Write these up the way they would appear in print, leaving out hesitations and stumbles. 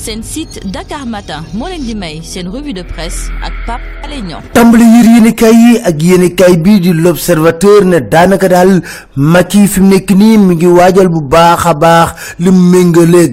seen site Dakar Matin moo leen di may seen revue de presse ak Pape Alé Niang. tàmbali yéenekaay yi ak yéenekaay bii di l'Observateur ne daanaka daal Macky fi mu nekk nii mi ngi waajal bu baax a baax li méngale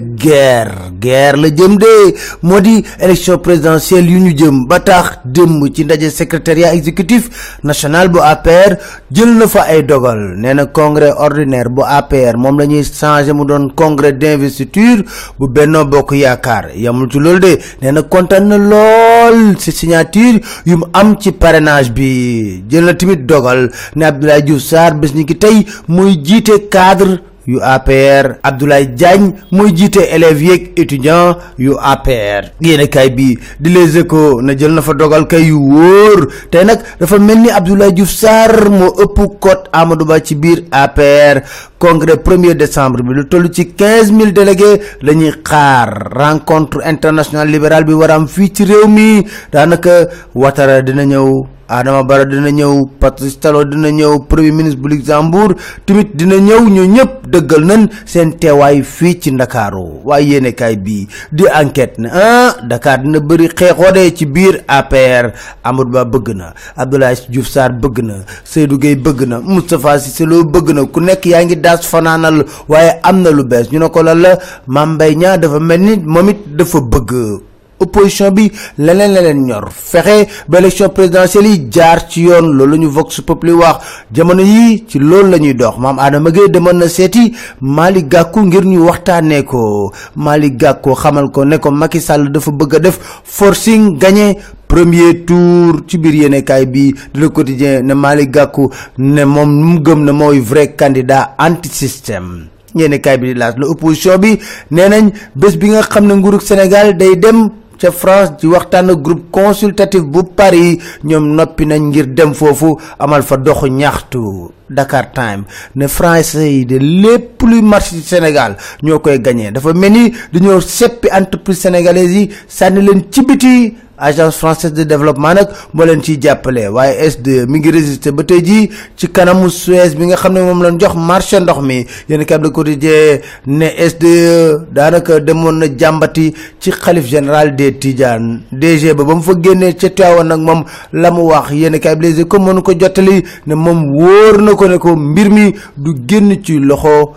guerre la jëm de moo di élection présidentielle yu ñu jëm ba tax démb ci ndaje secrétariat exécutif national bu APR jël na fa ay dogal nee na congrès ordinaire bu APR moom la ñuy changé mu doon congrès d'investiture bu Benno Bokk Yaakaar yamul ci loolu de nee na kontaan na lool ci signature yu mu am ci parrainage bi jël na tamit dogal ne Abdoulaye Diouf Sarr bés ni ki tey muy jiite cadre yu APR Abdoulaye Diagne mooy jiite élèves yeeg étudiants yu APR yéenekaay bi di Les Échos na jël na fa dogal kay yu wóor tey nag dafa mel ni Abdoulaye Diouf Sarr moo ëpp cote Amadou Ba ci biir APR congrès 1er décembre bi lu toll ci 15 000 délégués la ñuy xaar rencontre internationale libérale bi war a am fii ci réew mi daanaka Ouattara dina ñëw Adama Barrow dina ñëw Patrice Talon dina ñëw premier ministre bu Luxembourg tamit dina ñëw ñoo ñëpp dëggal nañ seen teewaay fii ci Ndakaaru waaye yéenekaay bi di enquête ne Dakar dina bëri xeexoode ci biir APR Amadou Ba bëgg na Abdoulaye Diouf Sarr bëgg na Seydou Gueye bëgg na Moustapha Cissé Lo bëgg na ku nekk yaa ngi daas fanaanal waaye am na lu bees ñu ne ko lan la Mame Mbaye Niang dafa mel ni moom it dafa bëgg opposition bi leneen ñor fexe ba élection présidentielle yi jaar ci yoon loolu la ñu Vox Populi wax jamono yi ci loolu la ñuy dox maam Adama Gueye demoon na seeti Malick Gakou ngir ñu waxtaanee ko Malick Gakou xamal ko ne ko Macky Sall dafa bëgg a def forcing gagné premier tour ci biir yéenekaay bi di Le Quotidien ne Malick Gakou ne moom mu gëm ne mooy vrai candidat anti système yéenekaay bi di laas la opposition bi nee nañ bés bi nga xam ne nguurug Sénégal day dem ca France ci waxtaan groupe consultatif bu Paris ñoom noppi nañ ngir dem foofu amal fa doxu ñaxtu Dakar Time ne français yi de lépp luy marché ci Sénégal ñoo koy gagné dafa mel ni dañoo seppi entreprise sénégalaise yi sànni leen ci biti agence française de développement nag moo leen ciy jàppale waaye SDE mi ngi résister ba tey jii ci kanamu Suez bi nga xam ne moom lañ jox marché ndox mi yéen kab Le Quotidien ne SDE daanaka demoon na jàmbati ci xalif général des Tidianes DG ba mu fa génnee ca Tivaouane nag moom la mu wax yéen kab Les Échos mënu ko jottali ne moom wóor na ko ne ko mbir mi du génn ci loxo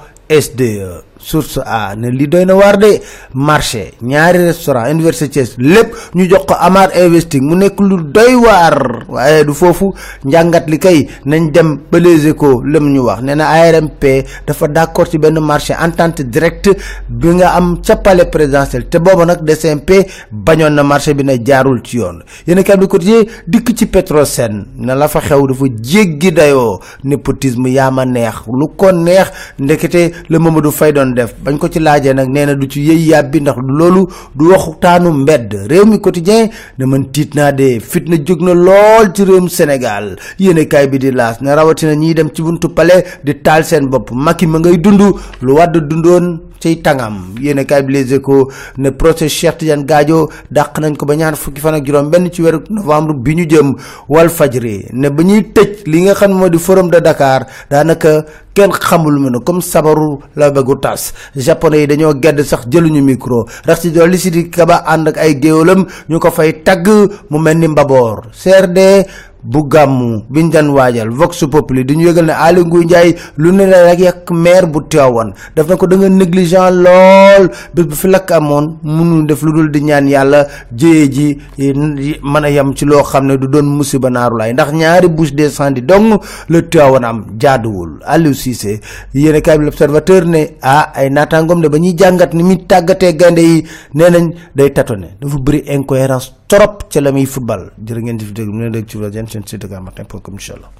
SDE source a ne li doy na waar de marché ñaari restaurant Université Thiès lépp ñu jox ko Amar Investing mu nekk lu doy waar waaye du foofu njàngat li kay nañ dem ba Les Échos lëm ñu wax nee na ARMP dafa d'accord ci benn marché entente directe bi nga am ca palais présidentiel te booba nag DCMP bañoon na marché bi na jaarul ci yoon yéen kay bi quotidien dikk ci Petrosen na la fa xew dafa jéggi dayoo népotisme yaama neex lu ko neex ndekete le Mamadou Faye doon def bañ ko ci laajee nag nee na du ci yëy yàbbi ndax loolu du waxtaanu mbedd réew mi quotidien ne man tiit naa de fitna jóg na lool ci réewum Sénégal yéenekaay bi di laas ne rawatina ñiy dem ci buntu palais di taal seen bopp Macky ma ngay dund lu Wàdd dundoon cay tàngam yéenekaay bi Les Échos ne procès Cheikh Tidiane Gadio dàq nañ ko ba ñaar fukki fan ak juróom benn ci weeru novembre bi ñu jëm Walfadjri ne ba ñuy tëj li nga xam moo di forum de Dakar daanaka kenn xamul mu ne comme sabaru la bëggu tas japonais yi dañoo gedd sax jëluñu micro rax ci dolli si di kaba ànd ak ay géwalam ñu ko fay tagg mu mel ni mbaboor CRD bu gàmmu biñ daan waajal Vox Populi di ñu yëgal ne Aly Ngouille Ndiaye lu ne la rek yàq maire bu Tivaouane daf na ko da nga négligent lool bés bu fi lakk amoon mënu def lu dul di ñaan yàlla jëye ji mën a yem ci loo xam ne du doon musiba naaru laay ndax ñaari bouche d'incendie dong le Tivaouane am jaaduwul Aliou Cissé yéen kaay bi L'Observateur ne ay naataangoom de ba ñuy jàngat ni muy tàggatee gaynde yi nee nañ day tâtonner dafa bëri incohérence trop ca la muy football jërë ngeen di fi déglu mu ne dégg ci seen site Dakar Matin.com inchallah